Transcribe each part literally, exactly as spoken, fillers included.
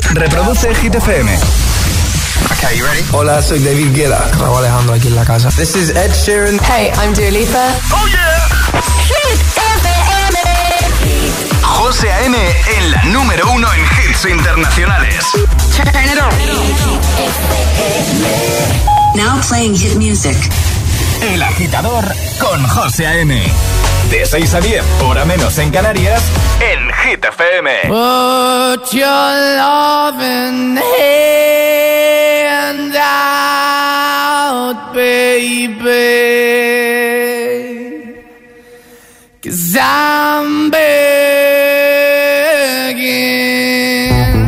Reproduce Hit F M. Okay, you ready? Hola, soy David Guetta. Raúl Alejandro aquí en la casa. This is Ed Sheeran. Hey, I'm Dua Lipa. Oh yeah. Hit F M. José A M en la número uno en hits internacionales. Turn it on. Now playing hit music. El Agitador con José A M. De seis a diez, hora menos en Canarias, en Hit F M. Put your loving hand out, baby, 'cause I'm begging.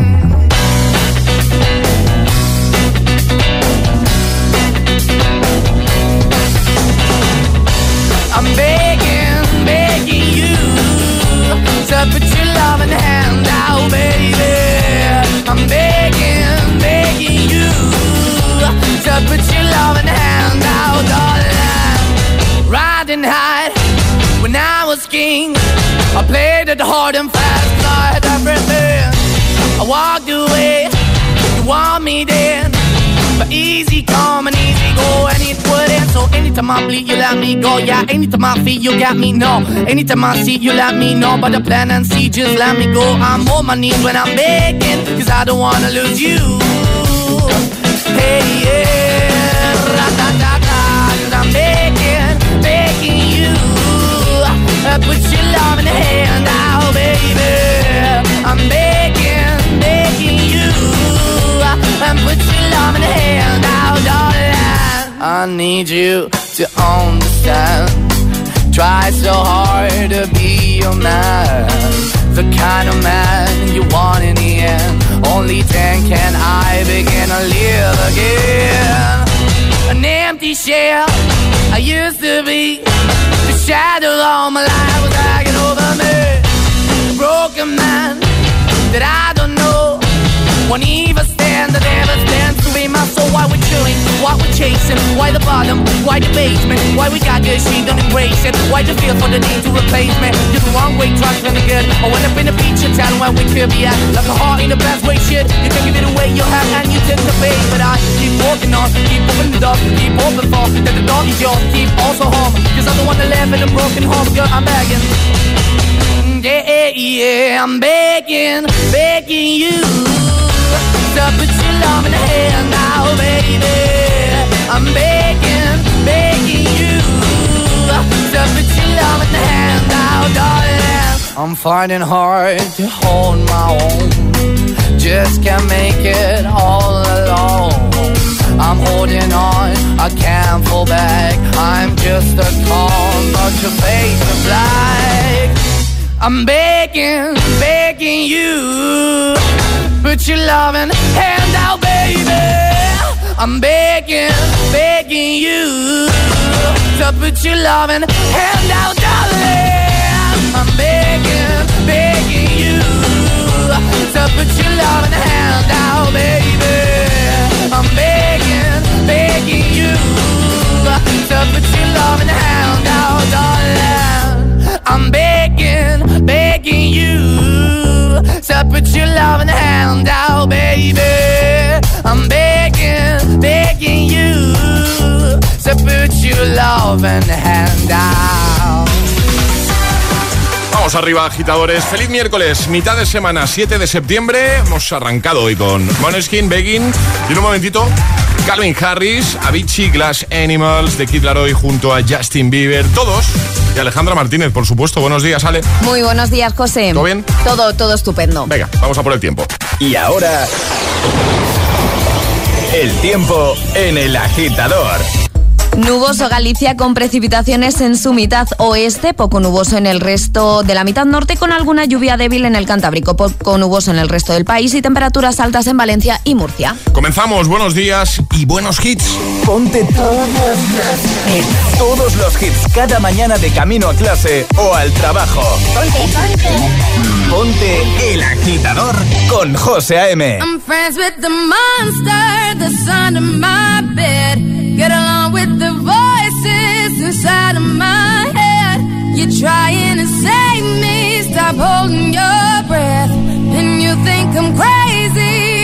I'm begging, begging you to put your loving hand out, baby. I'm begging, begging you to put your loving hand out, darling. Riding high when I was king, I played it hard and fast, I had everything. I walked away, you want me then, but easy come and easy go, and it wouldn't. So anytime I bleed, you let me go. Yeah, anytime I feel, you got me, no. Anytime I see, you let me know. But the plan and see, just let me go. I'm on my knees when I'm begging, 'cause I don't wanna lose you. Hey, yeah, ra-da-da-da, 'cause I'm begging, begging you. Uh, put your love in the hand out, baby. I'm begging, begging you. And put your love in the hand out, darling. I need you to understand. Try so hard to be your man, the kind of man you want in the end. Only then can I begin to live again. An empty shell I used to be, the shadow all my life was hanging over me. A broken man that I don't know won't even stand, that never stands to be my soul. Why we're chilling, why we're chasing, why the bottom, why the basement, why we got this, she don't embrace it, why the feel for the need to replace me. You're the wrong way, trying to good. I went up in the feature town where we could be at, like a heart in the best way, shit. You can give it away, you have, and you take the bait. But I keep walking on, keep opening the door, keep open for, that the door is yours, keep also home, 'cause I'm the one that live in a broken home, girl, I'm begging. Yeah, yeah, I'm begging, begging you to put your love in the hand now, baby. I'm begging, begging you to put your love in the hand now, darling. I'm finding hard to hold my own, just can't make it all alone. I'm holding on, I can't fall back, I'm just a call, but your face is black. I'm begging, begging you, put your loving hand out, baby. I'm begging, begging you to put your loving hand out, darling. I'm begging, begging you to put your loving hand out, baby. I'm begging, begging you to put your loving hand out, darling. I'm begging, begging you to put your loving hand out, baby. I'm begging, begging you to put your loving hand out. Vamos arriba, agitadores. Feliz miércoles, mitad de semana, siete de septiembre. Hemos arrancado hoy con Måneskin, Begging. Y en un momentito, Calvin Harris, Avicii, Glass Animals, The Kid Laroi junto a Justin Bieber. Todos. Y Alejandra Martínez, por supuesto. Buenos días, Ale. Muy buenos días, José. ¿Todo bien? Todo, todo estupendo. Venga, vamos a por el tiempo. Y ahora, el tiempo en El Agitador. Nuboso Galicia con precipitaciones en su mitad oeste, poco nuboso en el resto de la mitad norte, con alguna lluvia débil en el Cantábrico, poco nuboso en el resto del país y temperaturas altas en Valencia y Murcia. Comenzamos, buenos días y buenos hits. Ponte todos los hits, todos los hits cada mañana de camino a clase o al trabajo. Ponte, ponte. Ponte El Agitador con José A M. I'm friends with the monster that's under my bed. Get along with the voices inside of my head. You're trying to save me, stop holding your breath. And you think I'm crazy,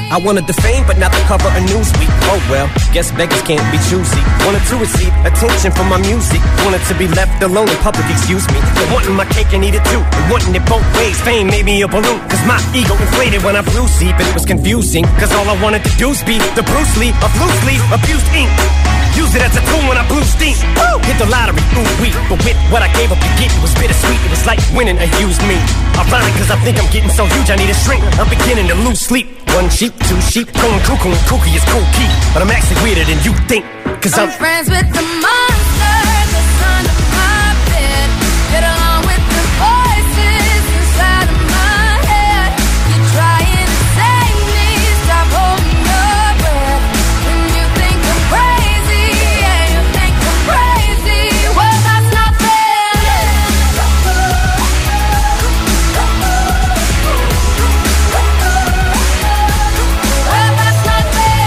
I wanted the fame, but not the cover of Newsweek. Oh well, guess beggars can't be choosy. Wanted to receive attention from my music. Wanted to be left alone in public, excuse me. But wanting my cake and eat it too. And wanting it both ways. Fame made me a balloon. Cause my ego inflated when I blew sleep. And it was confusing. Cause all I wanted to do was be the Bruce Lee of loosely abused ink. Use it as a tool when I blew steam. Woo! Hit the lottery, ooh wee. But with what I gave up to get, it was bittersweet. It was like winning a used me. Ironic cause I think I'm getting so huge I need a shrink. I'm beginning to lose sleep. One sheep, two sheep, going cuckoo and kooky is cool key. But I'm actually weirder than you think. Cause I'm, I'm friends with the monster that's under my bed. Get along with the voices inside of my head. You're trying to save me, stop holding your breath. When you think I'm crazy, yeah, you think I'm crazy. Well, that's not fair. Well, that's not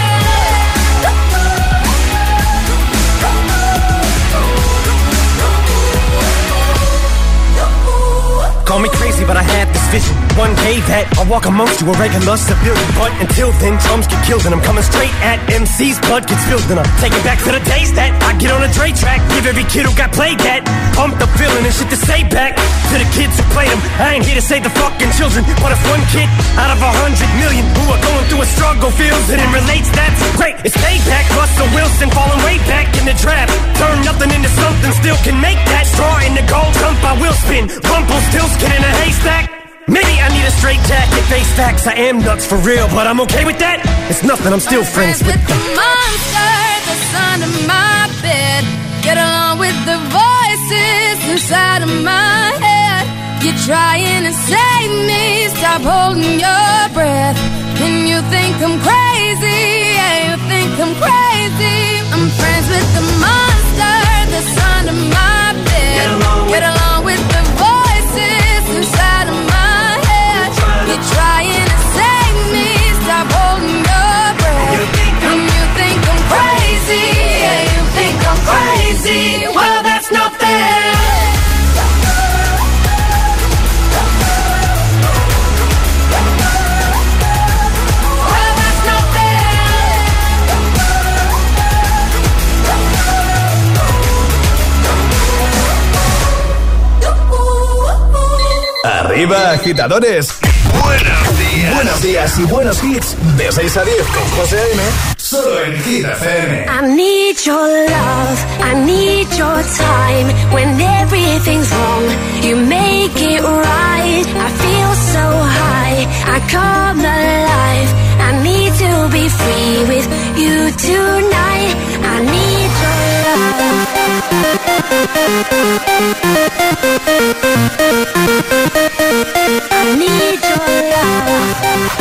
call me crazy, but I had this vision. One day that I'll walk amongst you, a regular civilian. But until then, chums get killed, and I'm coming straight at M C's. Blood gets spilled, and I'm taking back to the days that I get on a Dre track. Give every kid who got played that pumped up feeling and shit to say back to the kids who played them. I ain't here to save the fucking children, but if one kid out of a hundred million who are going through a struggle feels it and relates, that's great. It's payback. Russell Wilson falling way back in the draft. Turn nothing into something, still can make that. Straw in the gold jump, I will spin. Rumple still skin in a haystack. Maybe I need a straight jacket, face facts. I am nuts for real, but I'm okay with that. It's nothing, I'm still I'm friends, friends with with the monster that's under my bed. Get along with the voices inside of my head. You're trying to save me, stop holding your breath. When you think I'm crazy, yeah, you think I'm crazy. I'm friends with the monster that's under my bed. Get along, Get along with the voices inside of my head. You're trying to save me, stop holding your breath. When you think I'm crazy, yeah, you think I'm crazy. Well, that's not fair. Well, that's not fair. Arriba, agitadores. Buenos días. Buenos días y buenos hits. De seis a diez con José A M. Solo en Hit F M. I need your love, I need your time. When everything's wrong, you make it right. I feel so high, I come alive. I need to be free with you tonight. I need your love. I need your love.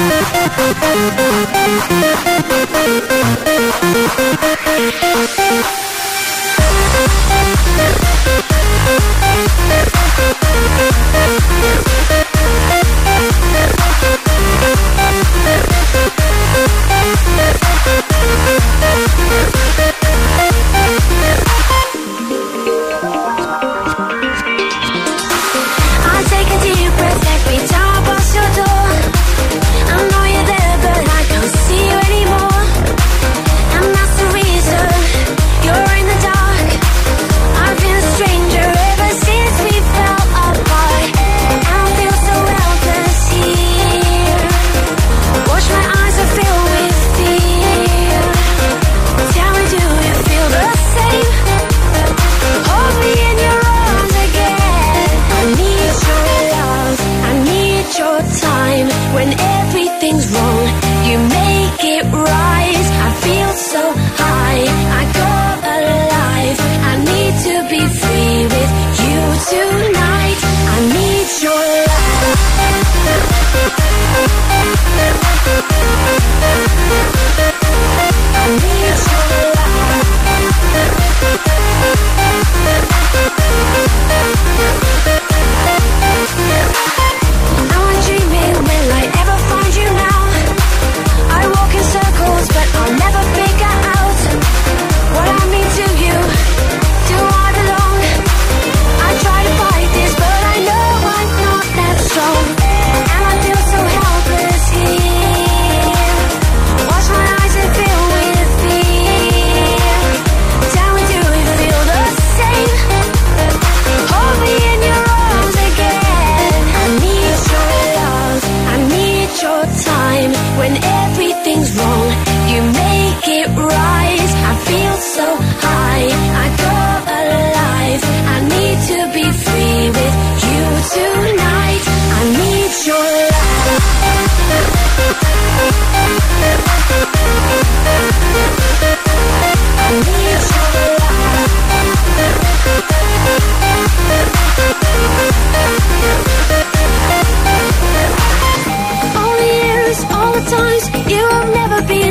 I take a deep breath every time I pass your door. I know you're there, but I can't see you anymore. And that's the reason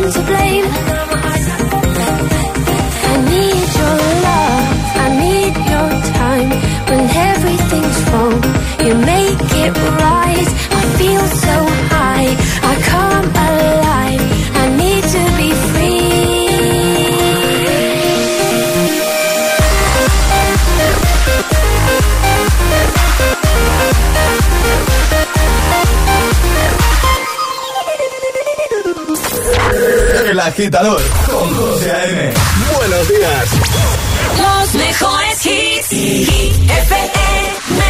to blame. I need your love, I need your time. When everything's wrong, you make it right. I feel so high, I come alive. I need to be free. El Agitador con José A M. Buenos días. Los mejores hits. Hit F M.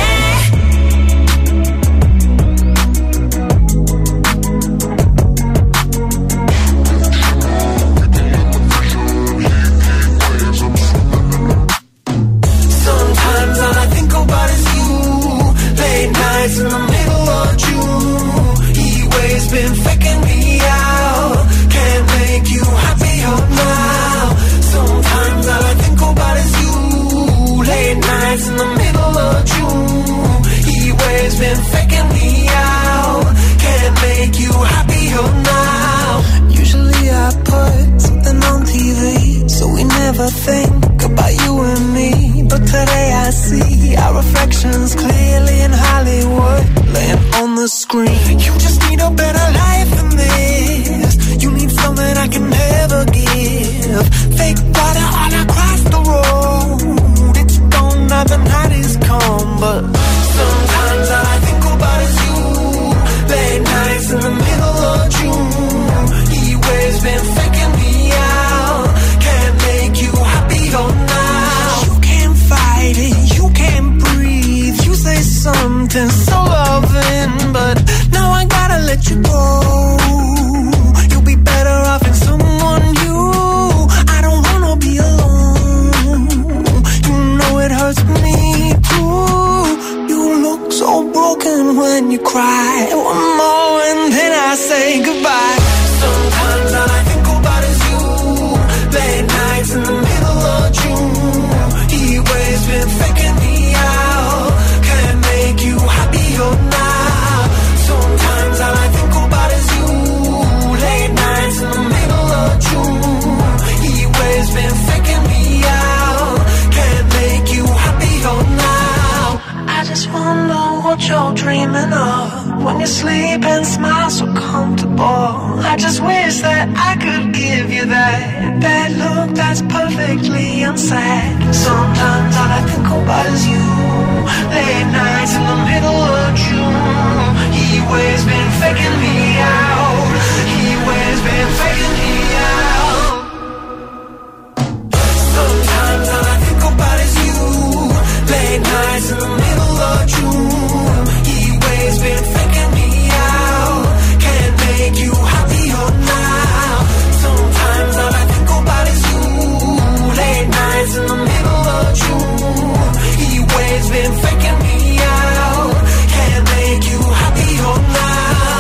Sometimes all I think about is you. Late nights in the middle of June. He waves been faking me out. Can't make you happier now. Sometimes all I think about is you. Late nights in the middle of June. He waves been faking me out. Can't make you happier now. Usually I put something on T V, so we never think about you and me. But today I see our reflections clearly in Hollywood, laying on the screen. You just need a better life than this. You need something I can never give. Fake water all across the road. It's gone now, the night is come. But sometimes all I think about is you. Late nights in the middle of June. He waves been faking me out. Can't make you happier now. You can't fight it, you can't breathe. You say something so loving, but now I gotta let you go. You'll be better off in someone new. I don't wanna be alone. You know it hurts me too. You look so broken when you cry. One more and then I say goodbye. Sometimes all I think about is you. Late nights in the middle of June. He waves been faking me out. Can't make you happier now. Sometimes all I think about is you. Late nights in the middle of June. He waves been faking me out. Can't make you happier now. I just wonder what you're dreaming of when you sleep and smile so comfortable. I just wish that I could give you that that look that's perfectly unsaid. Sometimes all I think about is you. Late nights in the middle of June. He waves been faking me out. He waves been faking me out. Sometimes all I think about is you. Late nights in the middle of June. He waves been faking me out. Can't make you happier now. Sometimes all I think about is you. Late nights in the middle of June. He waves been faking me out. Can't make you happier now.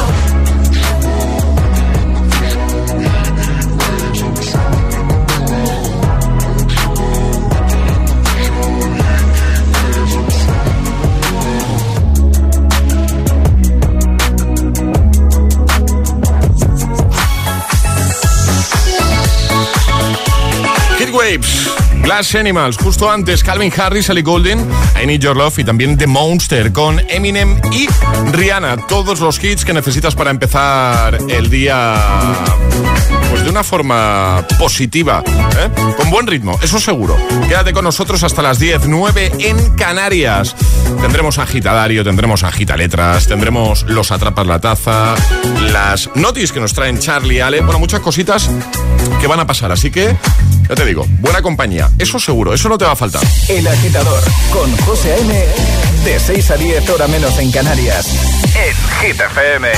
Waves, Glass Animals, justo antes Calvin Harris, Ellie Goulding, I Need Your Love y también The Monster con Eminem y Rihanna. Todos los hits que necesitas para empezar el día pues de una forma positiva, ¿eh? Con buen ritmo, eso seguro. Quédate con nosotros hasta las diez, nueve en Canarias. Tendremos agitadario, tendremos agitaletras, tendremos los atrapas la taza, las notis que nos traen Charlie y Ale, bueno, muchas cositas que van a pasar, así que ya te digo, buena compañía, eso seguro, eso no te va a faltar. El Agitador con José A M, de seis a diez, hora menos en Canarias, en Hit F M.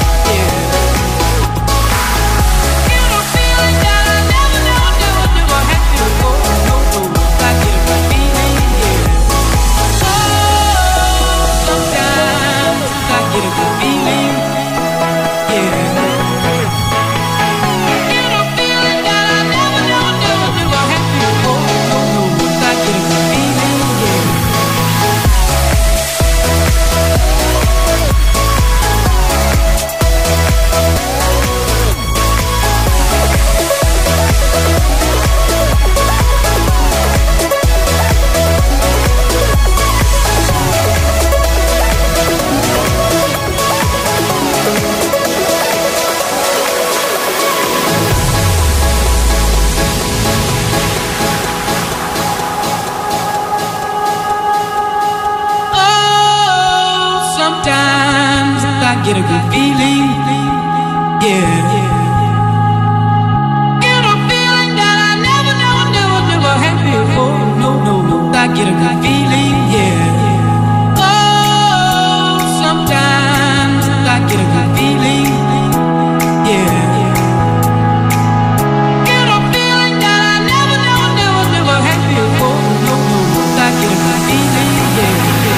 Never get a good feeling, yeah. Get a feeling that I never, never, never, never had before. No, no, no, I get a good feeling, yeah. Oh, sometimes I get a good feeling, yeah. Get a feeling that I never, never, never, never had before. No, no, no, I get a good feeling, yeah.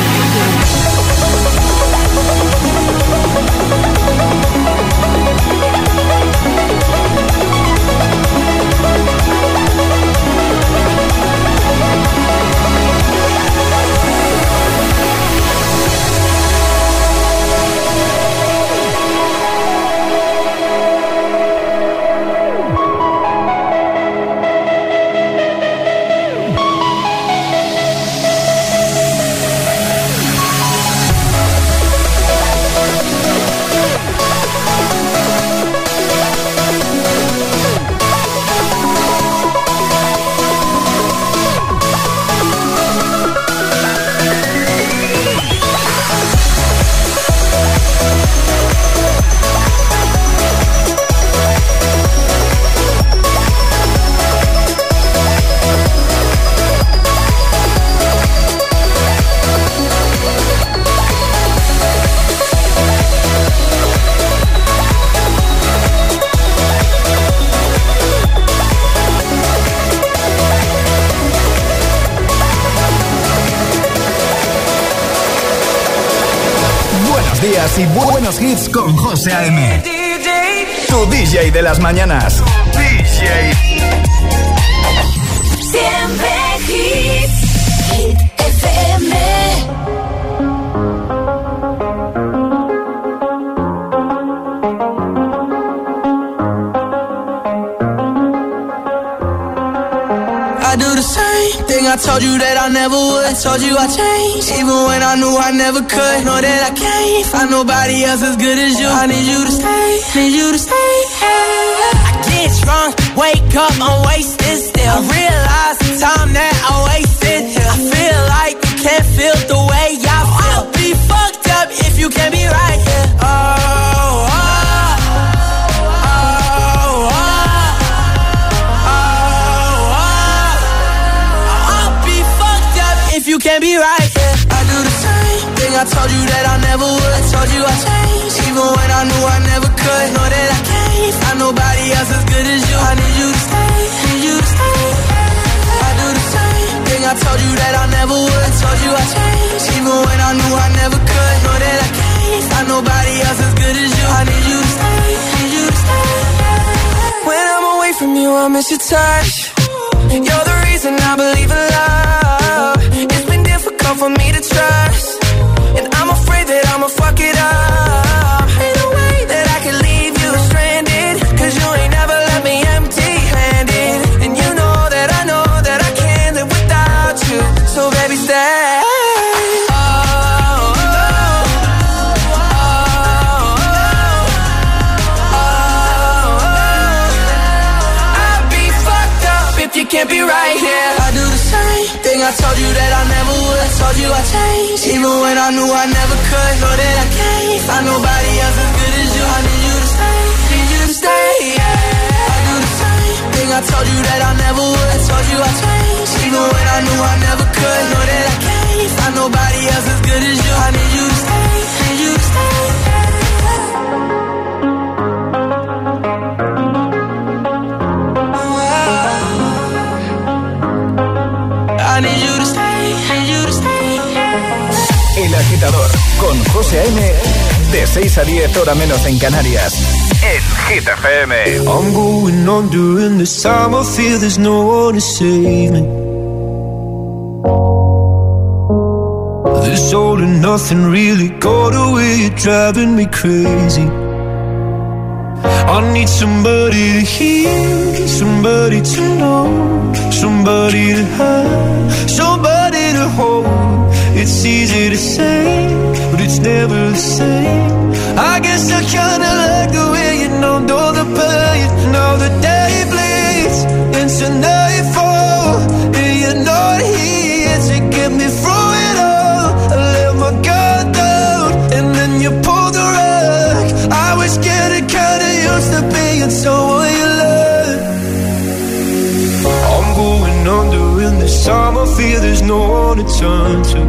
Y buenos hits con José A M. Tu D J de las mañanas. D J. Siempre hits. Hit F M. I do the same thing I told you that I never would. I told you I changed, even when I knew I never could. Know that I can't find nobody else as good as you. I need you to stay, need you to stay. I get drunk, wake up, I'm wasted still. I realize the time that I wasted here. I feel like you can't feel the way I feel. I'll be fucked up if you can't be right here. Oh, oh. You can't be right, yeah. I do the same thing I told you that I never would. I told you I changed, even when I knew I never could. Know that I can't find nobody else as good as you. I need you to stay, need you to stay. I do the same thing I told you that I never would. I told you I changed, even when I knew I never could. Know that I can't find nobody else as good as you. I need you to stay, need you to stay. When I'm away from you, I miss your touch. You're the reason I believe in love. It's been difficult for me to trust, and I'm afraid that I'ma fuck it up. Ain't no way that I can leave you stranded, cause you ain't never left me empty-handed. And you know that I know that I can't live without you. So baby stay. Oh, oh, oh, oh, oh, oh. I'd be fucked up if you can't be right here. I do the same thing I told you that I never would. I told you I changed, even when I knew I never could. Know that I can't find nobody else as good as you. I need you to stay, need you to stay, yeah. I do the same thing I told you that I never would. I told you I changed, even when I knew I never could. Know that I can't find nobody else as good as you. I need you to stay, need you to stay, I need you to stay, need you to stay. El Agitador con José A M de seis a diez, hora menos en Canarias. En Hit F M. I'm going on during this time. I feel there's no one to save me. This all and nothing really got away. You're driving me crazy. I need somebody to hear, somebody to know, somebody to have, somebody to hold. It's easy to say, but it's never the same. I guess I kinda like the way you know, know the pain. Now the day bleeds into nightfall, and you're not here to get me through it all. I let my guard down, and then you pulled the rug. This time I fear there's no one to turn to.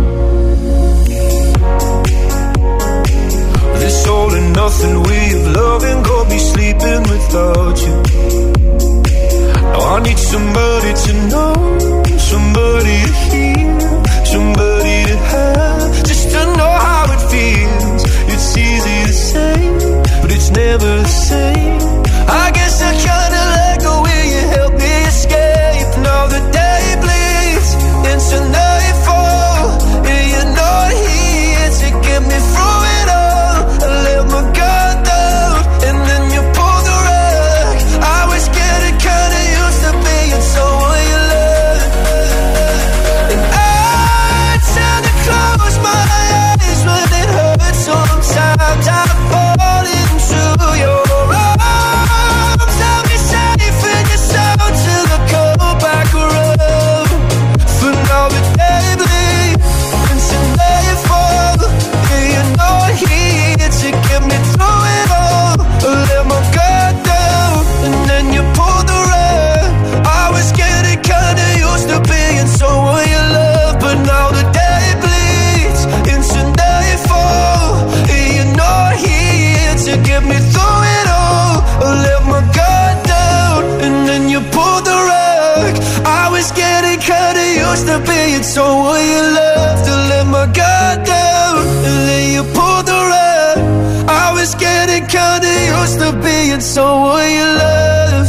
This all and nothing way of loving got me sleeping without you. Now I need somebody to know, somebody to hear, somebody to have, just to know how it feels. It's easy to say, but it's never the same. I guess I kinda like the way you help me escape. Now the day bleeds into nightfall, and you're not here to get me through it all. I let my guard down, and then you pulled the rug. I was getting kinda used to being someone you love, and I tend to close my eyes when it hurts. Sometimes I fall into your arms. I'll be safe in your soul till I come back around. For now the day bleeds into nightfall, and you're not here to get me through it all. I let my guard down, and then you pulled the rug. I was getting kinda used to being someone you love, but now the day bleeds into nightfall, and you're not here to get me through it all. I let my guard down, and then you pulled the rug. I was getting kinda used to being someone you love. To let my guard down, and then you pulled the rug. I was getting kinda used to being someone you love.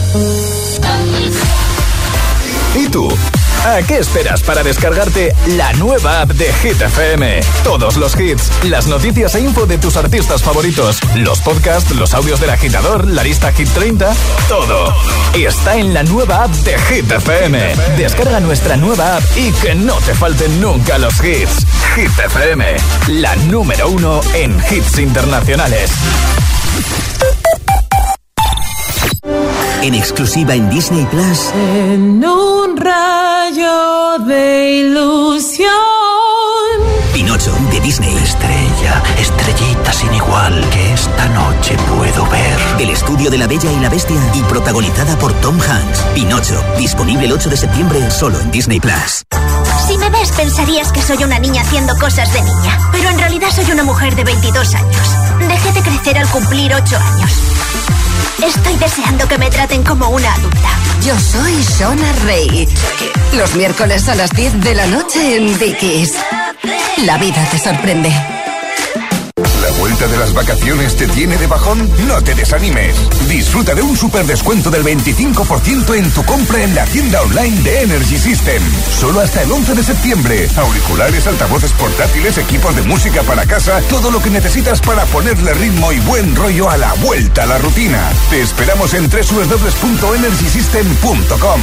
¿Y tú? ¿A qué esperas para descargarte la nueva app de Hit F M? Todos los hits, las noticias e info de tus artistas favoritos, los podcasts, los audios del agitador, la lista Hit treinta, todo. Está en la nueva app de Hit F M. Descarga nuestra nueva app y que no te falten nunca los hits. Hit F M, la número uno en hits internacionales. En exclusiva en Disney Plus. En un rayo de ilusión. Pinocho, de Disney. Estrella, estrellita sin igual, que esta noche puedo ver. Del estudio de La Bella y la Bestia y protagonizada por Tom Hanks. Pinocho, disponible el ocho de septiembre solo en Disney Plus. Si me ves pensarías que soy una niña haciendo cosas de niña, pero en realidad soy una mujer de veintidós años. Dejé de crecer al cumplir ocho años. Estoy deseando que me traten como una adulta. Yo soy Shona Rey. Los miércoles a las diez de la noche en Dickies. La vida te sorprende. ¿La vuelta de las vacaciones te tiene de bajón? No te desanimes. Disfruta de un super descuento del veinticinco por ciento en tu compra en la tienda online de Energy System. Solo hasta el once de septiembre. Auriculares, altavoces portátiles, equipos de música para casa, todo lo que necesitas para ponerle ritmo y buen rollo a la vuelta a la rutina. Te esperamos en doble u doble u doble u punto energy system punto com.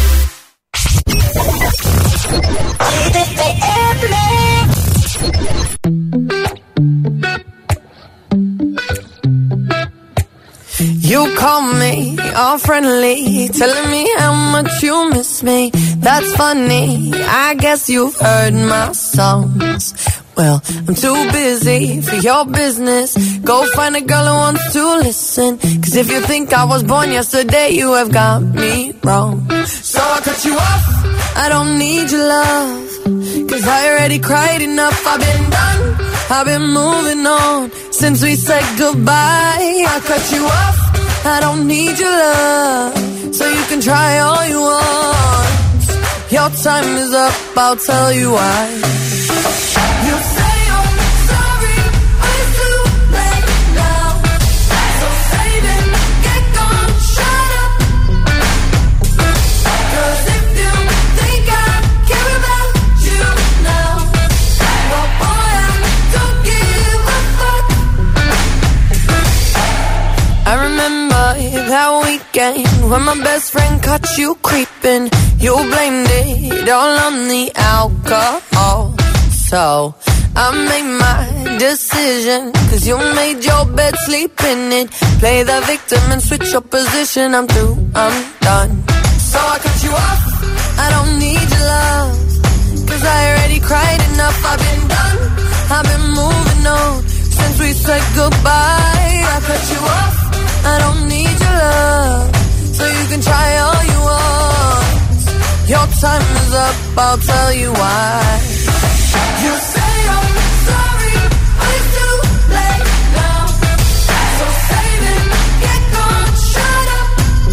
You call me all friendly, telling me how much you miss me. That's funny, I guess you've heard my songs. Well, I'm too busy for your business. Go find a girl who wants to listen. Cause if you think I was born yesterday, you have got me wrong. So I cut you off, I don't need your love. Cause I already cried enough, I've been done, I've been moving on since we said goodbye. I cut you off, I don't need your love, so you can try all you want. Your time is up, I'll tell you why. You say I'm sorry, but it's too late now. So save it, get gone, shut up. Cause if you think I care about you now, well boy, I don't give a fuck. I remember that weekend when my best friend caught you creeping. You blamed it all on the alcohol. So I made my decision, cause you made your bed, sleep in it. Play the victim and switch your position. I'm through, I'm done. So I cut you off, I don't need your love, cause I already cried enough. I've been done, I've been moving on since we said goodbye. I cut you off, I don't need your love, so you can try all you want. Your time is shows up, I'll tell you why. You say I'm sorry, but it's too late now. So save it, get gone, shut up.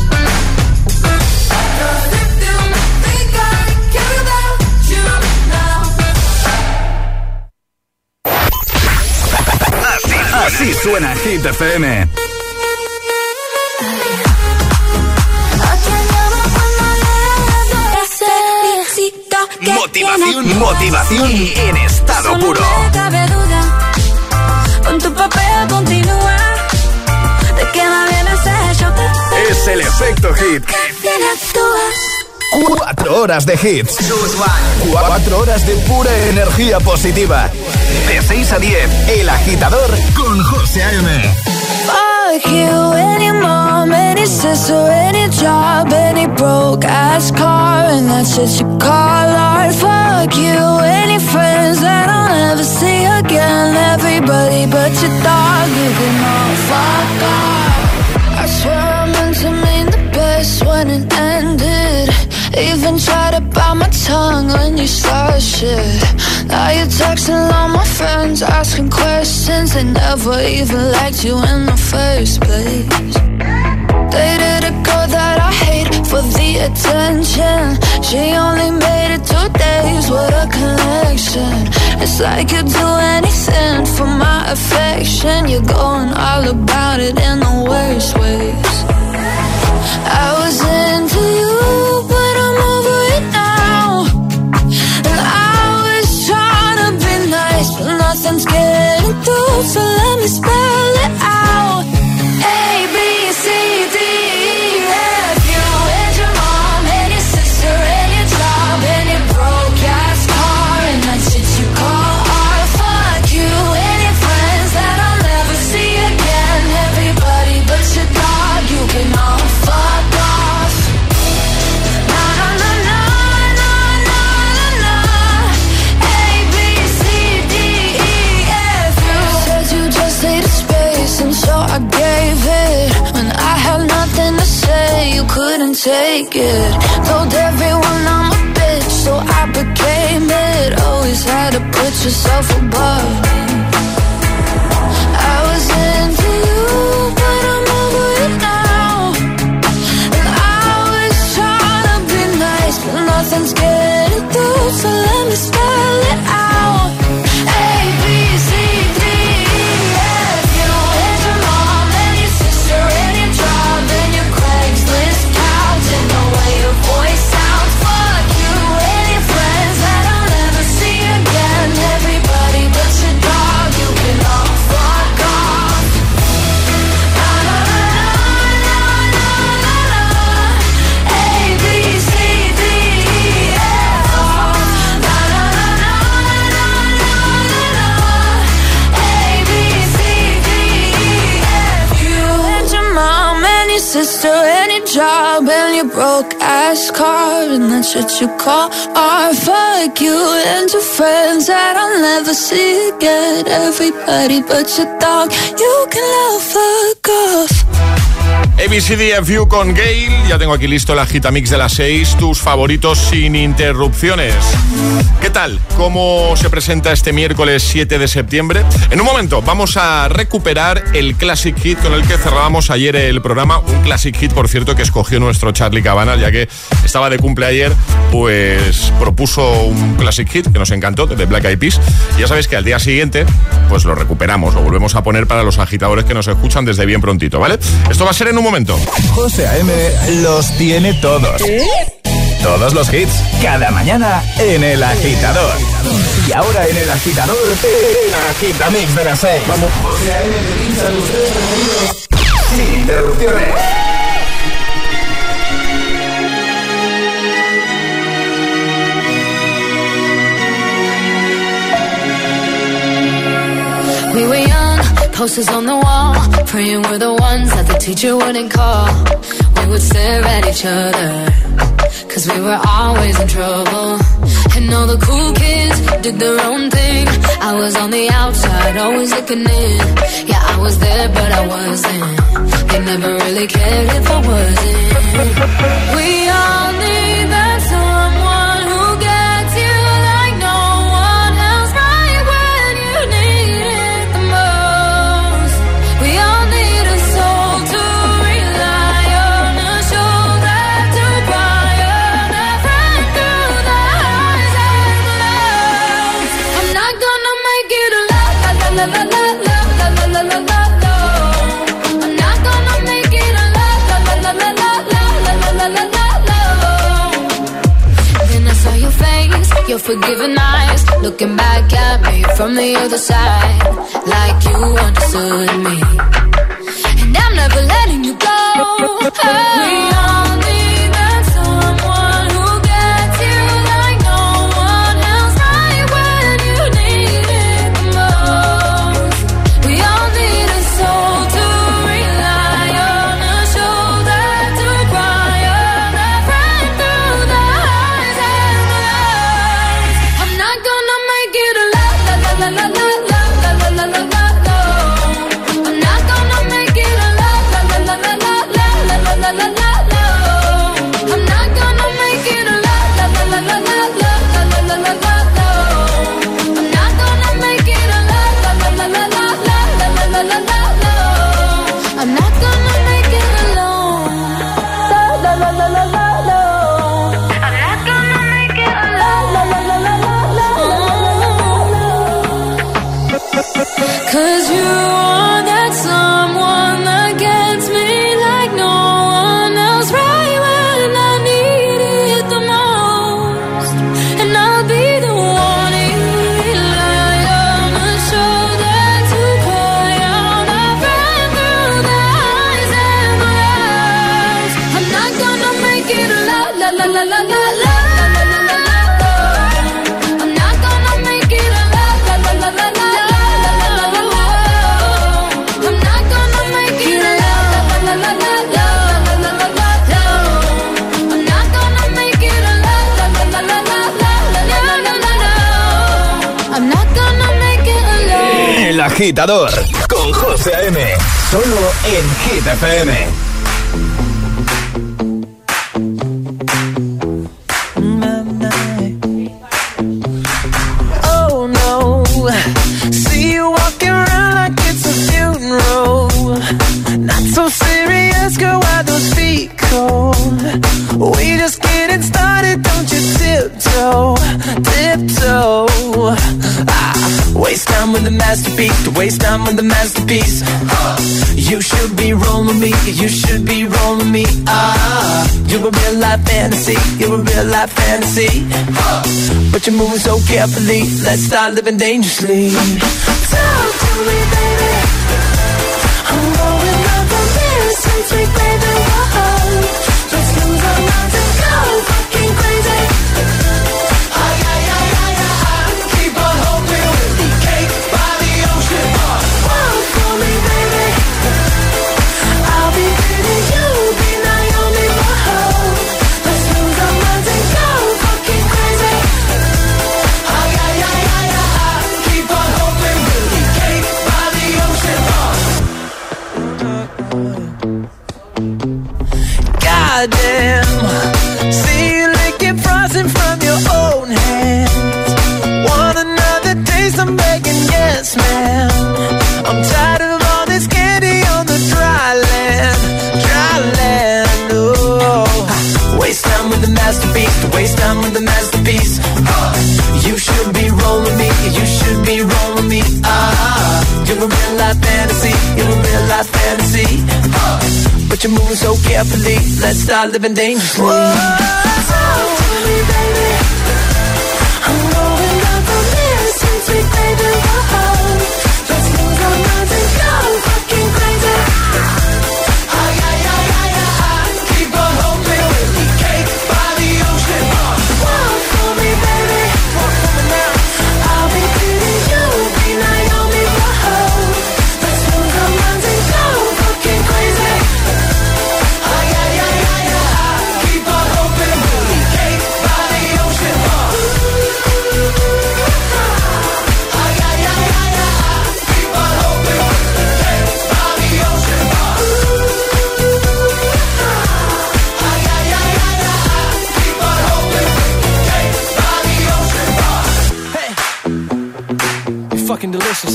Cause if you think I care about you now. Así, así suena Hit F M. Motivación, motivación en estado puro. No cabe duda, con tu papel continúa. Te queda bien ese shot. Es el efecto hit. Bien actúas. Cuatro horas de hits. Cuatro horas de pura energía positiva. De seis a diez, El Agitador con José A M. Fuck you, any mom, any sister, any job, any broke ass car, and that's what you call art. Fuck you, any friends that I'll never see again. Everybody but your dog, you can all fuck off. I swear I meant to mean the best when it ended. Even tried to bite my tongue when you started shit. Now you're texting all my friends, asking questions. They never even liked you in the first place. Dated a girl that I hate for the attention. She only made it two days, what a connection. It's like you'd do anything for my affection. You're going all about it in the worst ways. I was into you, but I'm over it now. And I was trying to be nice, but nothing's getting through, so let me spell it out. A, B, C, D, E, F, you and your mom and your sister and your job and your broke ass car, and that's shit you call art. Fuck you and your friends that I'll never see again. Everybody but your dog, you can all fuck off. Na na na na na na na na. A, B, C, D, E, F, you said you just needed space, and so I gave it. When I had nothing to say, you couldn't take it. Told everyone I'm a bitch, so I became it. Always had to put yourself above me. I was into you, but I'm over it now. And I was trying to be nice, but nothing's getting through, so let me spell it out. A, B, C, D, E, F, you and your mom and your sister and your job and your Craigslist couch and the way your voice sounds. Fuck you and your friends that I'll never see again. Everybody but your dog, you can all fuck off. Na na na na na na na. A, B, C, D, E, F, na na na na na na na. A, B, C, D, E, F, you and your mom and your sister and your job and your broke ass car, and that's what you call art. Fuck you and your friends that I'll never see again. Everybody but your dog, you can all fuck off. A B C D F U con Gail. Ya tengo aquí listo la Agitamix de las seis, tus favoritos sin interrupciones. ¿Qué tal? ¿Cómo se presenta este miércoles siete de septiembre? En un momento vamos a recuperar el Classic Hit con el que cerrábamos ayer el programa. Un Classic Hit, por cierto, que escogió nuestro Charlie Cabanal, ya que estaba de cumple ayer, pues propuso un Classic Hit que nos encantó, de Black Eyed Peas. Y ya sabéis que al día siguiente, pues lo recuperamos, lo volvemos a poner para los agitadores que nos escuchan desde bien prontito, ¿vale? Esto va a ser en un momento. José A M los tiene todos. Todos los hits, cada mañana en El Agitador. Y ahora en El Agitador, el Agitamix de las seis. Vamos. José A M te pincha tus tres preferidos sin interrupciones. We were young, posters on the wall, praying we're the ones that the teacher wouldn't call. We would stare at each other, cause we were always in trouble. And all the cool kids did their own thing. I was on the outside, always looking in. Yeah, I was there, but I wasn't. They never really cared if I wasn't. We all need that someone who unforgiving eyes, looking back at me from the other side, like you understood me. And I'm never letting you go. Oh. We all need that someone who gets you like no one else, right when you need it the most. We all need a soul to rely on, a shoulder to cry on, a friend through the highs and the lows. I'm not gonna make it a la la la la la la la la la la la la. I'm not gonna make it a la la la la la la la la la la la la. I'm not gonna make it a la la la la la la la la la la la la. I'm not gonna make it a la la la la la la la la la la la. I'm not gonna make it alone. La la la la la la. I'm not gonna make it alone. La la la la la la la. Cause you are that someone that gets me like no one else, right when I need it the most. And I'll be the one you rely on, a shoulder to cry on, a friend through the highs and the lows. I'm not gonna make it a la la la la la la la. I'm not gonna make it a la la la la la la. I'm not gonna make it a la la la la la la la la la. I'm not gonna make it a la la la la la la la la la. I'm not gonna make it alone. El Agitador con José A M. Solo en Hit F M. Oh no, see you walking around like it's a funeral. Not so serious, girl, why those feet cold? We just getting started, don't you tiptoe, tiptoe. Ah, waste time with the masterpiece, to waste time with the masterpiece. You should be rolling me, you should be rolling me. Ah, you're a real life fantasy, you're a real life fantasy. But you're moving so carefully, let's start living dangerously. Talk to me, baby. I'm going up from this sweet, sweet baby. Whoa. Let's lose our minds and go fucking crazy. Ay, ay, ay, ay, ay. Keep on hoping we'll be cake by the ocean. Walk for me, baby. I'll be pretty, you'll be Naomi. Whoa. Let's lose our minds and go fucking crazy. Ay, ay, ay, ay, ay. Keep on hoping we'll be cake by the ocean. Goddamn, see you licking frosting from your own hands. Want another taste? I'm begging, yes, ma'am. I'm tired of all this candy on the dry land, dry land. Oh, waste time with the masterpiece, to waste time with the masterpiece. Uh, you should be rolling me, you should be rolling me. Ah, you're a real life fantasy, you're a real life fantasy. Uh, but you're moving so carefully, let's start living dangerously. Whoa, talk to me, baby. I'm going up on this sweet, sweet baby. Whoa, let's lose our minds and go fucking crazy. Ay, ay, ay, ay, ay. Keep on hoping we'll be cake by the ocean. Walk for me, baby. Walk for me now. I'll be pretty, you'll be Naomi. Whoa, let's lose our minds and go fucking crazy. Ay, ay, ay, ay, ay. Keep on hoping we'll be cake by the ocean. Ay, ay, ay, ay, ay. Keep on hoping we'll be cake by the ocean. Ay, ay, ay, ay, ay. Keep on hoping we'll be cake by the ocean. Hey, you're fucking delicious.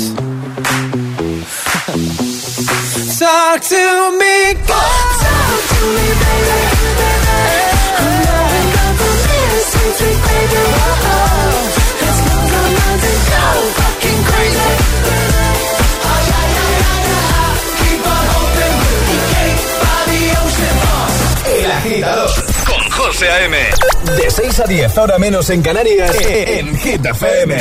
Talk to me, go. Talk to me, baby. I'm going up on this sweet, sweet baby. Whoa, let's lose our minds and go fucking crazy. Ay, ay, ay, ay, ay. Keep on hoping we'll be cake by the ocean. El Agitador con José José A M. De seis a diez, hora menos en Canarias, en Hit F M.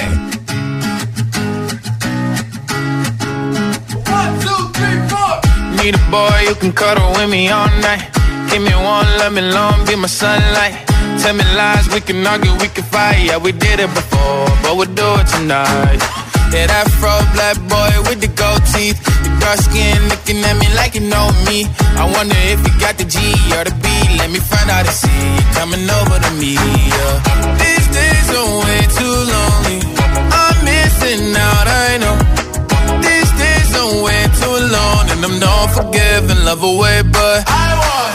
Need a boy who can cuddle with me all night. Give me one, let me long, be my sunlight. Tell me lies, we can argue, we can fight. Yeah, we did it before, but we'll do it tonight. Yeah, that fro black boy with the gold teeth. The dark skin looking at me like you know me. I wonder if you got the G or the B. Let me find out and see you coming over to me. Yeah. These days are way too lonely. I'm missing out, I know. These days are way too long, and I'm not forgiving, love away, but I want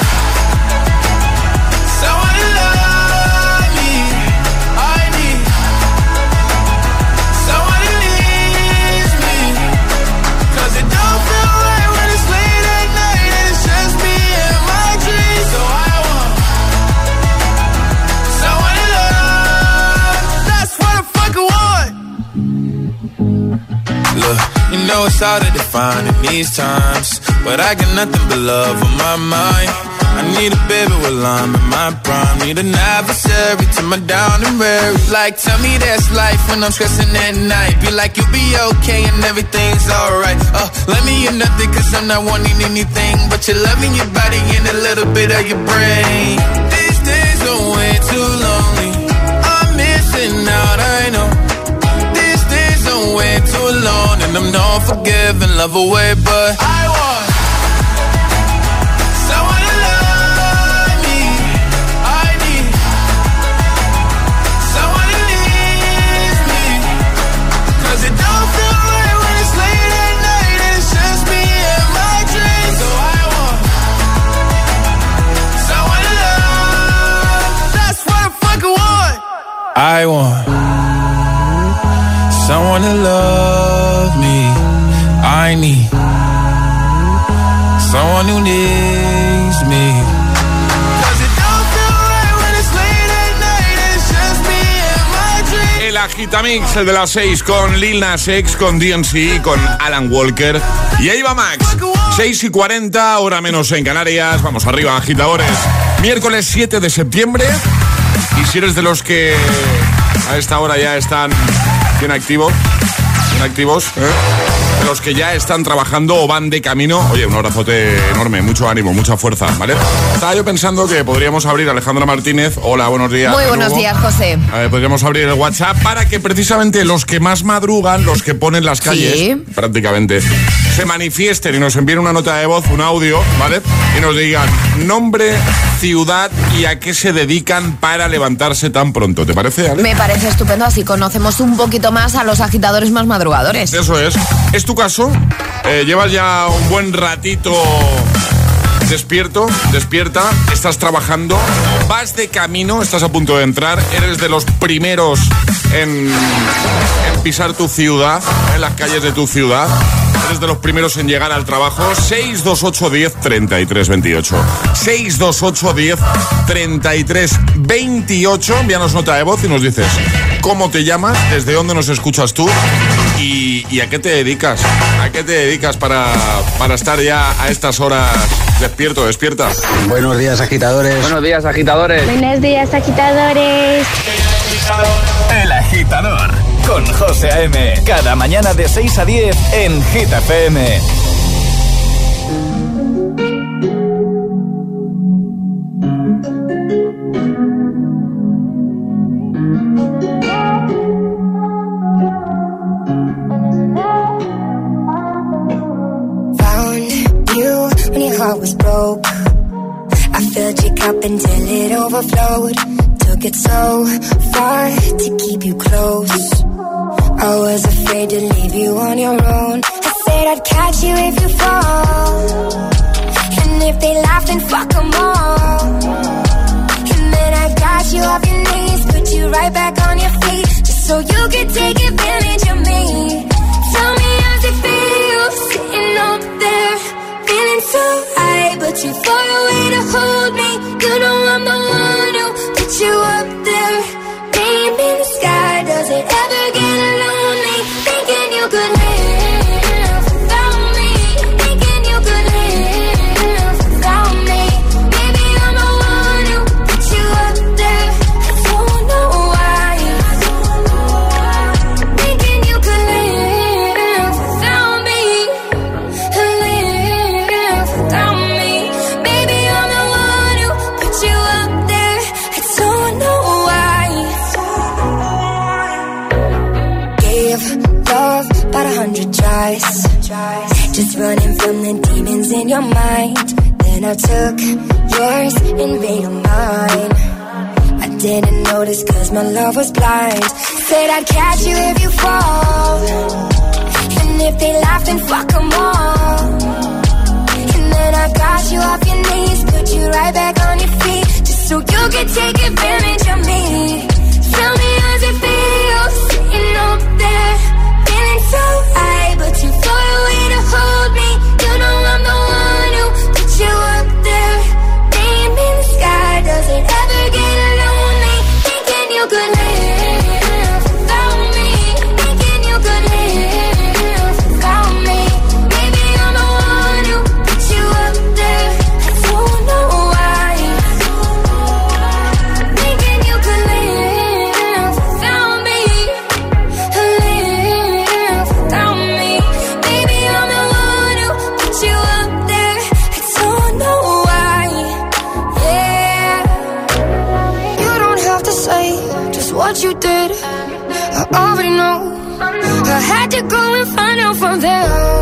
someone to love me. I need someone who needs me. Cause it don't feel right when it's late at night and it's just me and my dreams. So I want someone to love. That's what I fucking want. Look, you know it's hard to define in these times, but I got nothing but love on my mind. I need a baby while I'm in my prime. Need an adversary to my down and weary. Like, tell me that's life when I'm stressing at night. Be like, you'll be okay and everything's alright. Uh, let me in nothing cause I'm not wanting anything but you're loving your body and a little bit of your brain. These days are way too lonely. I'm missing out, I know. These days are way too long, and I'm not forgiving, love away, but I want someone to love me. I need someone who needs me. Cause it don't feel right when it's late at night and it's just me and my dreams. So I want someone to love. That's what I fucking want. I want someone to love me. I need someone who needs me. Cause it don't feel right when it's late at night and it's just me and my dreams. El Agitamix, el de las seis, con Lil Nas X, con D N C, con Alan Walker y ahí va Max. seis y cuarenta, hora menos en Canarias. Vamos arriba, agitadores. Miércoles siete de septiembre. Y si eres de los que a esta hora ya están bien activos, bien activos, ¿eh? De los que ya están trabajando o van de camino, oye, un abrazote enorme, mucho ánimo, mucha fuerza, ¿vale? Estaba yo pensando que podríamos abrir, Alejandra Martínez, hola, buenos días. Muy buenos días, José. A ver, podríamos abrir el WhatsApp para que precisamente los que más madrugan, los que ponen las calles, sí, prácticamente, se manifiesten y nos envíen una nota de voz, un audio, ¿vale? Y nos digan nombre, ciudad y a qué se dedican para levantarse tan pronto. ¿Te parece, Ale? Me parece estupendo, así conocemos un poquito más a los agitadores más madrugadores. Eso es. ¿Es tu caso? Eh, ¿Llevas ya un buen ratito despierto, despierta? ¿Estás trabajando? ¿Vas de camino? ¿Estás a punto de entrar? ¿Eres de los primeros en, en pisar tu ciudad, en las calles de tu ciudad? ¿Eres de los primeros en llegar al trabajo? seis dos ocho diez treinta y tres veintiocho. seis dos ocho diez treinta y tres veintiocho. Envíanos nota de voz y nos dices cómo te llamas, desde dónde nos escuchas tú y, y a qué te dedicas. ¿A qué te dedicas para, para estar ya a estas horas despierto, despierta? Buenos días, agitadores. Buenos días, agitadores. Buenos días, agitadores. El Agitador con José A M. Cada mañana de seis a diez en Hit F M. Found you when your heart was broke. I filled your cup until it overflowed. Took it so far to keep you close. I was afraid to leave you on your own. I said I'd catch you if you fall. And if they laugh, then fuck them all. And then I got you off your knees, put you right back on your feet, just so you could take advantage of me. Tell me how's it feel, sitting up there, feeling so high, but too far away to hold me. You know I'm the one who put you up there, name in the sky. Does it ever get lonely, thinking you could live without me, thinking you could live without me? Maybe I'm the one who put you up tries. Just running from the demons in your mind. Then I took yours and made them mine. I didn't notice cause my love was blind. Said I'd catch you if you fall. And if they laugh then fuck them all. And then I got you off your knees, put you right back on your feet, just so you could take advantage of me. Tell me how's it feel, sitting up there, feeling so high, but too far away to hold me. You know I'm the one who put you up there. Name in the sky, does it ever get lonely? Thinking you could live without me. Thinking you could live without me. Maybe I'm the one who put you up there. I don't know why. Thinking you could live without me. Live without me. Maybe I'm the one who put you up there. I don't know why. Yeah. You don't have to say just what you did. I already know. I had to go and find out from them.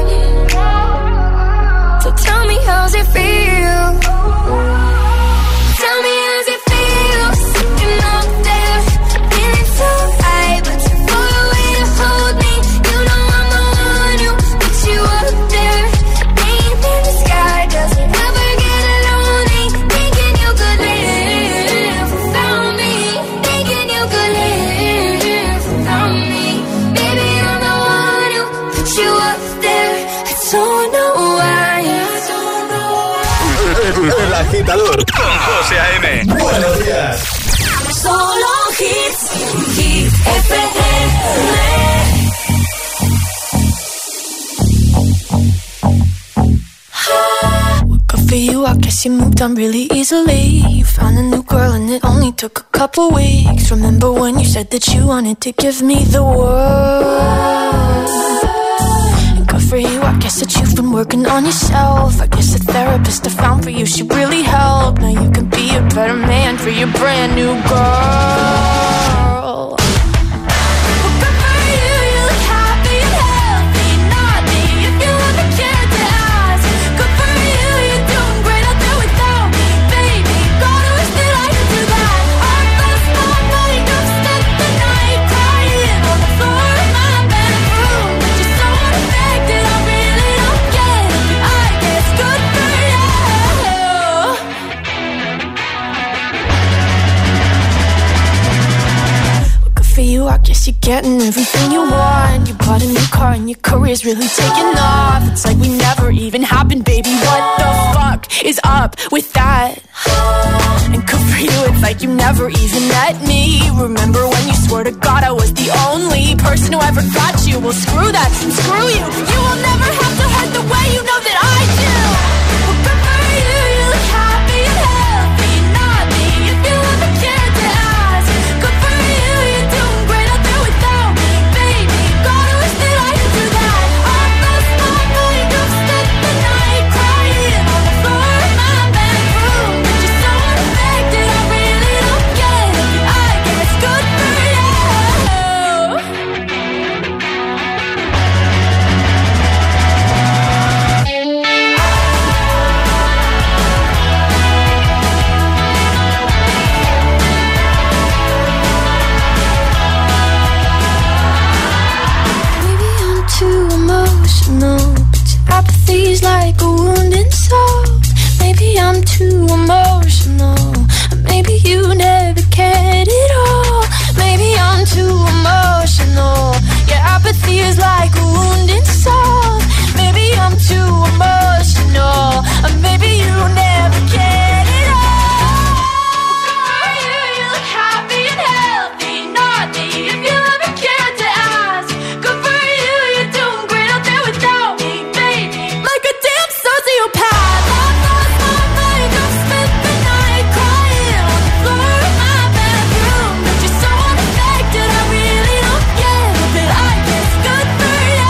So tell me how's it feel. Tell me how's it feel, sitting up there, feeling so high, but too far away to hold me. You know I'm the one who put you up there. Name in the sky, does it ever get lonely? Thinking you could live without me. Thinking you could live without me. Baby, I'm the one who put you up there. I don't know why. El agitador con José A M. Buenos días. Solo hits, Hit F M. Good for you, I guess you moved on really easily. You found a new girl and it only took a couple weeks. Remember when you said that you wanted to give me the world? And good for you, I guess that you've been working on yourself. I guess the therapist I found for you should really help. Now you can be a better man for your brand new girl. I guess you're getting everything you want. You bought a new car and your career's really taking off. It's like we never even happened, baby. What the fuck is up with that? And good for you, it's like you never even met me. Remember when you swore to God I was the only person who ever got you? Well, screw that, screw you. You will never have to hurt the way you know that I do. Well, good for you, you look happy and healthy. Not me, if you ever cared to ask. Good for you, you're doing great out there without me, baby. God, I wish that I could do that. I lost my mind, I've spent the night crying on the floor of my bedroom. But you're so unaffected, I really don't get it. I guess good for you. Too emotional, but your apathy's like a wounded soul. Maybe I'm too emotional, or maybe you never cared at all. Maybe I'm too emotional, your apathy is like a wounded soul. Maybe I'm too emotional, or maybe you never cared at all. For you, you look happy and healthy, not me, if you ever cared to ask. Good for you, you're doing great out there without me, baby. Like a damn sociopath. I've lost my mind, I've spent the night crying on the floor of my bedroom. But you're so unaffected, I really don't get it. But I guess good for you.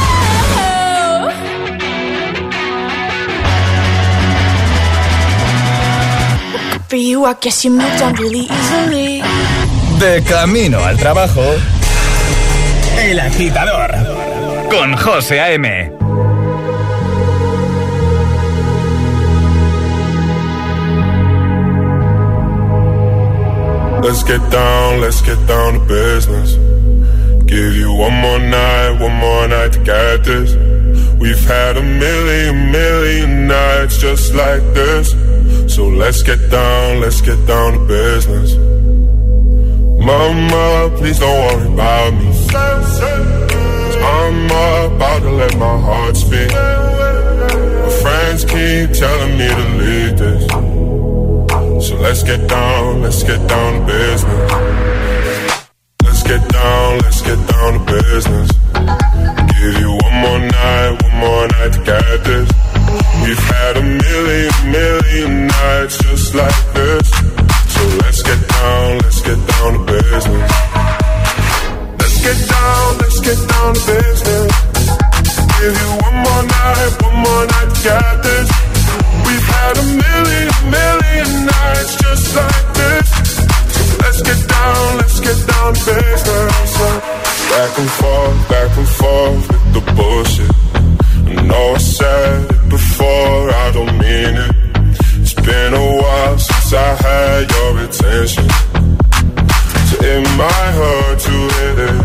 Well, good for you, I guess you moved on really easily. De camino al trabajo, El Agitador con José A M. Let's get down, let's get down to business. Give you one more night, one more night to get this. We've had a million, million nights just like this. So let's get down, let's get down to business. Mama, please don't worry about me. I'm about to let my heart speak. My friends keep telling me to leave this. So let's get down, let's get down to business. Let's get down, let's get down to business. Give you one more night, one more night to get this. We've had a million, million nights just like this. So let's get down, let's get down to business. Let's get down, let's get down to business. Give you one more night, one more night to get this. We've had a million, million nights just like this. Let's get down, let's get down to business. Back and forth, back and forth with the bullshit. I know I said it before, I don't mean it. It's been a while since I had your attention. So it might hurt to hit it.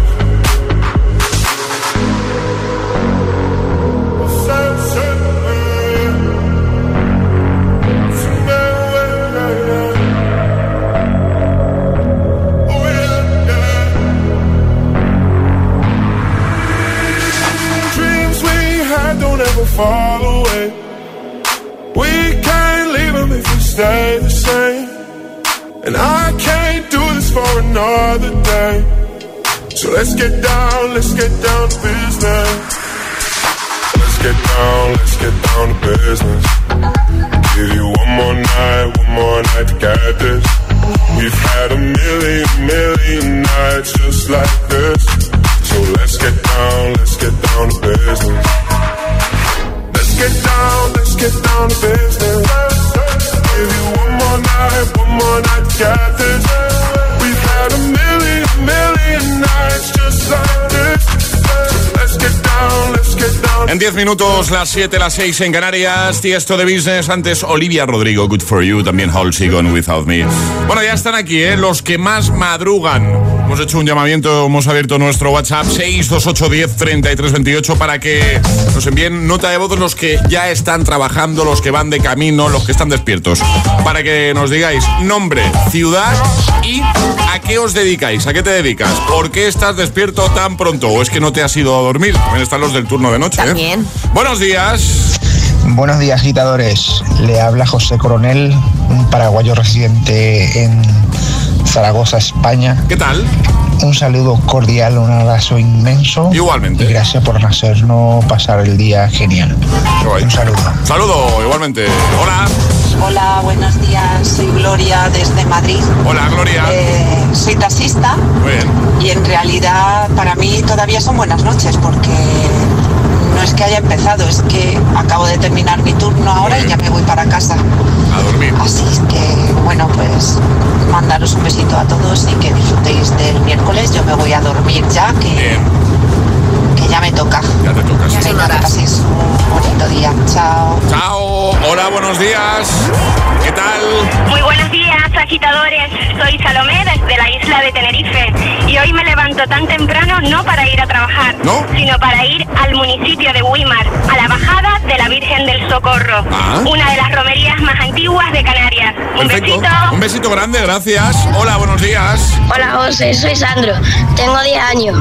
Fall away. We can't leave them if we stay the same. And I can't do this for another day. So let's get down, let's get down to business. Let's get down, let's get down to business. Give you one more night, one more night to get this. We've had a million, million nights just like this. So let's get down, let's get down to business. Let's get down, let's get down to business. Give you one more night, one more night to get this. We've had a million, million nights just like this. Let's get down, let's get down. En diez minutos, las siete, las seis en Canarias. Tiesto de Business, antes Olivia Rodrigo, Good For You, también Halsey, Gone Without Me. Bueno, ya están aquí, ¿eh? Los que más madrugan. Hemos hecho un llamamiento, hemos abierto nuestro WhatsApp seis dos ocho uno cero tres tres dos ocho para que nos envíen nota de voz los que ya están trabajando, los que van de camino, los que están despiertos. Para que nos digáis nombre, ciudad y a qué os dedicáis, a qué te dedicas, por qué estás despierto tan pronto o es que no te has ido a dormir. También están los del turno de noche. También. ¿eh? Buenos días. Buenos días, agitadores. Le habla José Coronel, un paraguayo residente en Zaragoza, España. ¿Qué tal? Un saludo cordial, un abrazo inmenso. Igualmente. Y gracias por hacernos pasar el día genial. Un saludo. Saludo, igualmente. Hola. Hola, buenos días. Soy Gloria desde Madrid. Hola, Gloria. Eh, soy taxista. Muy bien. Y en realidad para mí todavía son buenas noches porque no es que haya empezado, es que acabo de terminar mi turno ahora y ya me voy para casa. A dormir. Así que, bueno, pues mandaros un besito a todos y que disfrutéis del miércoles. Yo me voy a dormir ya, que, que ya me toca. Ya te toca. Sí. Venga, que paséis un bonito día. Chao. Chao. Hola, buenos días. ¿Qué tal? Muy buenos días, agitadores. Soy Salomé desde la isla de Tenerife y hoy me levanto tan temprano no para ir a trabajar, ¿no? Sino para ir al municipio de Güímar, a la bajada de la Virgen del Socorro, ah. una de las romerías más antiguas de Canarias. Un Perfecto. besito. Un besito grande, gracias. Hola, buenos días. Hola, José, soy Sandro, tengo diez años.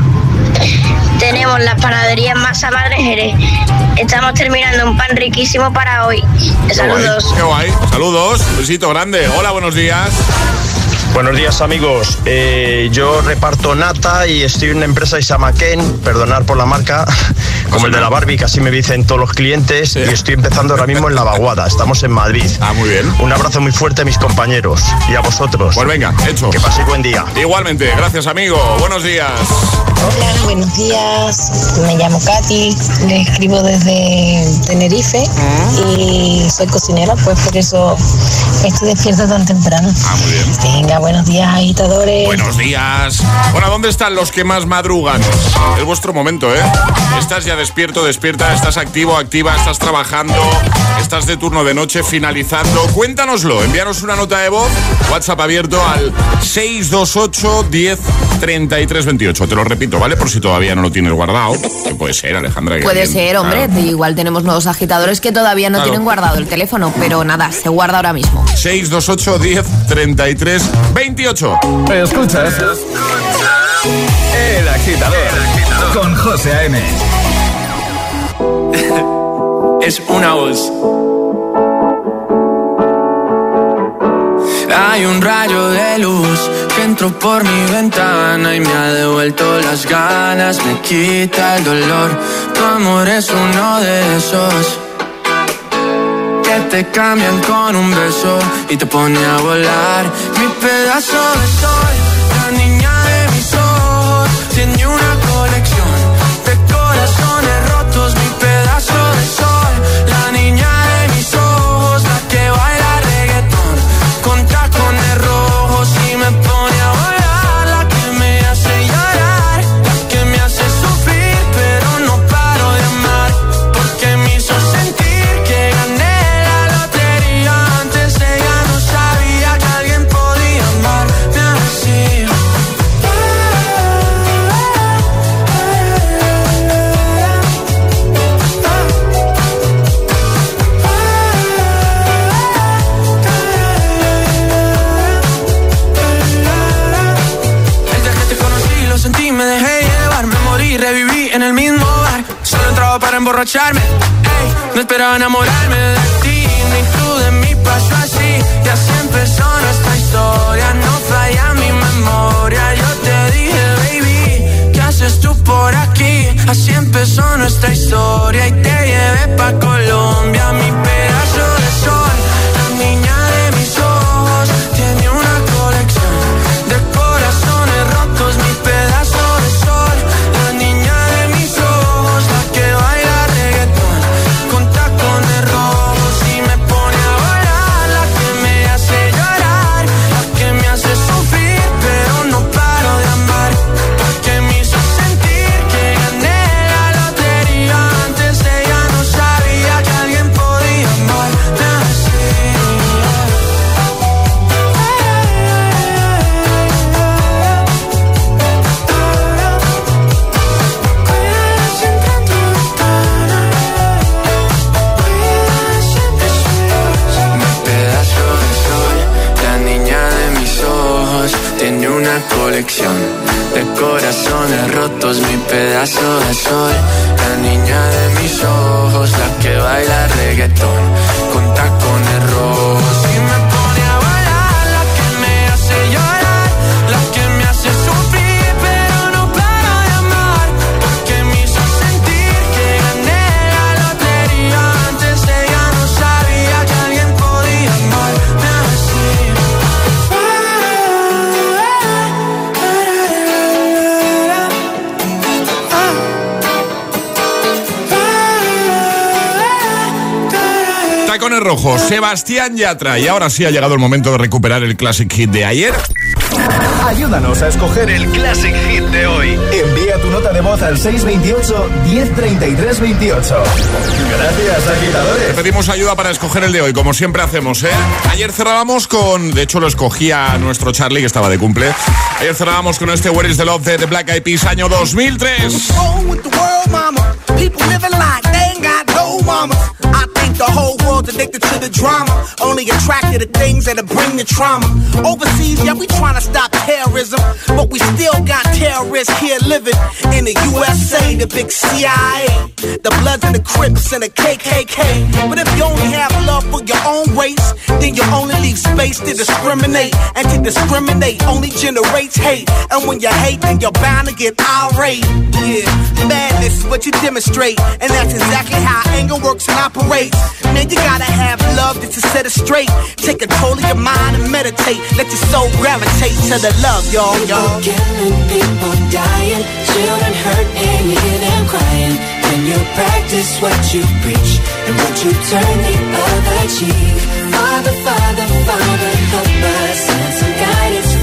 Tenemos las panaderías Masa Madre Jerez. Estamos terminando un pan riquísimo para hoy. Saludos. Qué guay, qué guay. Saludos, besito grande. Hola, buenos días. Buenos días, amigos. Eh, yo reparto nata y estoy en una empresa de Samaquén, perdonar por la marca, como el de la Barbie, que así me dicen todos los clientes, sí. Y estoy empezando ahora mismo en La Vaguada. Estamos en Madrid. Ah, muy bien. Un abrazo muy fuerte a mis compañeros y a vosotros. Pues venga, hecho. Que paséis buen día. Igualmente, gracias, amigo. Buenos días. Hola, buenos días. Me llamo Katy, le escribo desde Tenerife y soy cocinera, pues por eso estoy despierta tan temprano. Ah, muy bien. Venga, buenos días, agitadores. Buenos días. Bueno, ¿dónde están los que más madrugan? Es vuestro momento, ¿eh? Estás ya despierto, despierta, estás activo, activa, estás trabajando, estás de turno de noche, finalizando. Cuéntanoslo, envíanos una nota de voz, WhatsApp abierto al seis dos ocho, diez, treinta y tres, veintiocho. Te lo repito, ¿vale? Por si todavía no lo tienes guardado. Que puede ser, Alejandra. Que puede alguien, ser, hombre. claro. Igual tenemos nuevos agitadores que todavía no Claro. tienen guardado el teléfono, pero nada, se guarda ahora mismo. seis dos ocho, diez, treinta y tres, veintiocho. Escuchas El Agitador con José A M. Es una voz. Hay un rayo de luz que entró por mi ventana y me ha devuelto las ganas, me quita el dolor. Tu amor es uno de esos que te cambian con un beso y te pone a volar. Mi pedazo de sol, la niña de mis ojos, tiene una colección de corazones rotos. Mi pedazo de sol, la niña de mis ojos, la que baila reggaetón con tacones rojos y me pone a volar. La que me hace llorar, la que me hace sufrir, pero no paro de amar, porque me hizo sentir que gané la lotería. Antes ella no sabía que alguien podía amarme así. Desde que te conocí lo sentí, me dejé llevar, me morí, reviví en el mismo bar. Solo entraba para emborracharme, ey, no esperaba enamorarme de ti, ni tú de mí pasó así. Y así empezó nuestra historia, no falla mi memoria. Yo te dije, baby, ¿qué haces tú por aquí? Así empezó nuestra historia y te llevé pa' Colombia. Mi pedazo de sol, la niña de mis ojos, tiene una colección de corazones rotos. Mi pedazo de sol, la niña de mis ojos, la que baila reggaetón con tacones rojos y me pone a volar. La que me hace llorar, la que me hace sufrir, pero no paro de amar, porque me hizo sentir que gané la lotería. Antes ella no sabía que alguien podía amarme así. Mi pedazo de sol, la niña de mis ojos, tiene una colección de corazones rotos. Mi pedazo de sol, la niña de mis ojos, la que baila reggaetón con tacones rojos y me pone a volar. La que me hace llorar, la que me hace sufrir, pero no paro de amar, porque me hizo sentir que gané la lotería. Antes ella no sabía que alguien podía amarme así. Tacones rojos, Sebastián Yatra. Y ahora sí ha llegado el momento de recuperar el Classic Hit de ayer. Ayúdanos a escoger el Classic Hit de hoy. Envía tu nota de voz al seis veintiocho, diez treinta y tres, veintiocho. Gracias, agitadores. Te pedimos ayuda para escoger el de hoy, como siempre hacemos, ¿eh? Ayer cerrábamos con... De hecho, lo escogía nuestro Charlie, que estaba de cumple. Ayer cerrábamos con este Where is the Love de The Black Eyed Peas, año dos mil tres. The whole world's addicted to the drama, only attracted to things that'll bring the trauma. Overseas, yeah, we trying to stop terrorism, but we still got terrorists here living in the U S A, the big C I A, the Bloods and the Crips and the K K K. But if you only have love for your own race, then you only leave space to discriminate, and to discriminate only generates hate. And when you hate, then you're bound to get irate. Yeah, madness is what you demonstrate, and that's exactly how anger works and operates. Man, you gotta have love just to set it straight. Take control of your mind and meditate. Let your soul gravitate to the love, y'all, y'all. People killing, people dying, children hurt and you hear them crying. When you practice what you preach and what you turn the other cheek. Father, Father, Father, help us, send some guidance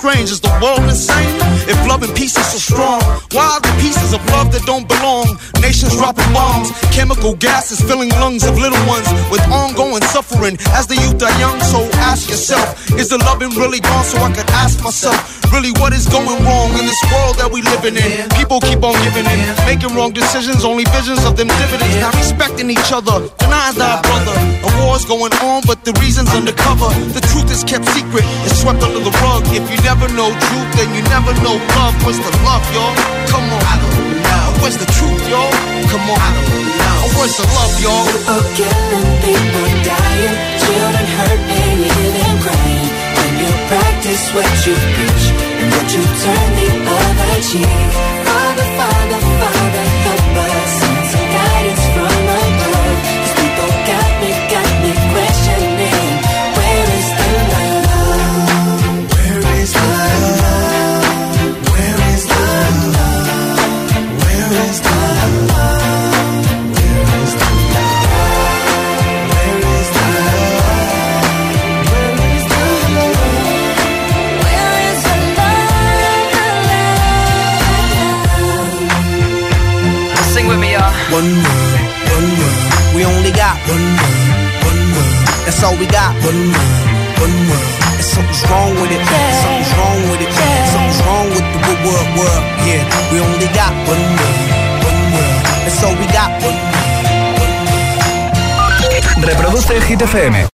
strange. Is the world insane? If love and peace is so strong, why are the pieces of love that don't belong? Nations dropping bombs, chemical gases filling lungs of little ones with ongoing suffering as the youth are young. So ask yourself, is the loving really gone? So I could ask myself, really what is going wrong in this world that we living in? People keep on giving in, making wrong decisions, only visions of them dividends. Not respecting each other, denying thy brother. A war's going on, but the reason's undercover. The truth is kept secret, it's swept under the rug. If you never know truth, then you never know love. Where's the love, y'all? Come on, I don't know. Where's the truth, y'all? Come on, I don't know. Where's the love, y'all? People killing, people dying, children hurt and you hear them crying. When you practice what you preach and what you turn the other cheek. Father, Father, Father, help us. Send some guidance from above. These people got me, got me questioning. Where is the love? Where is the love? Where is the love? Where is the love? Where is the love? Where is the love? Where is the love? Where is the love? Sing with me, y'all. One word, one word. We only got one word, one word. That's all we got. One word, one word. And something's wrong with it. Yeah. Something's wrong with it. Yeah. Something's wrong with the word, word, word. Yeah, we only got one word, one word. That's all we got. One word, one word. Reproduce Hit F M.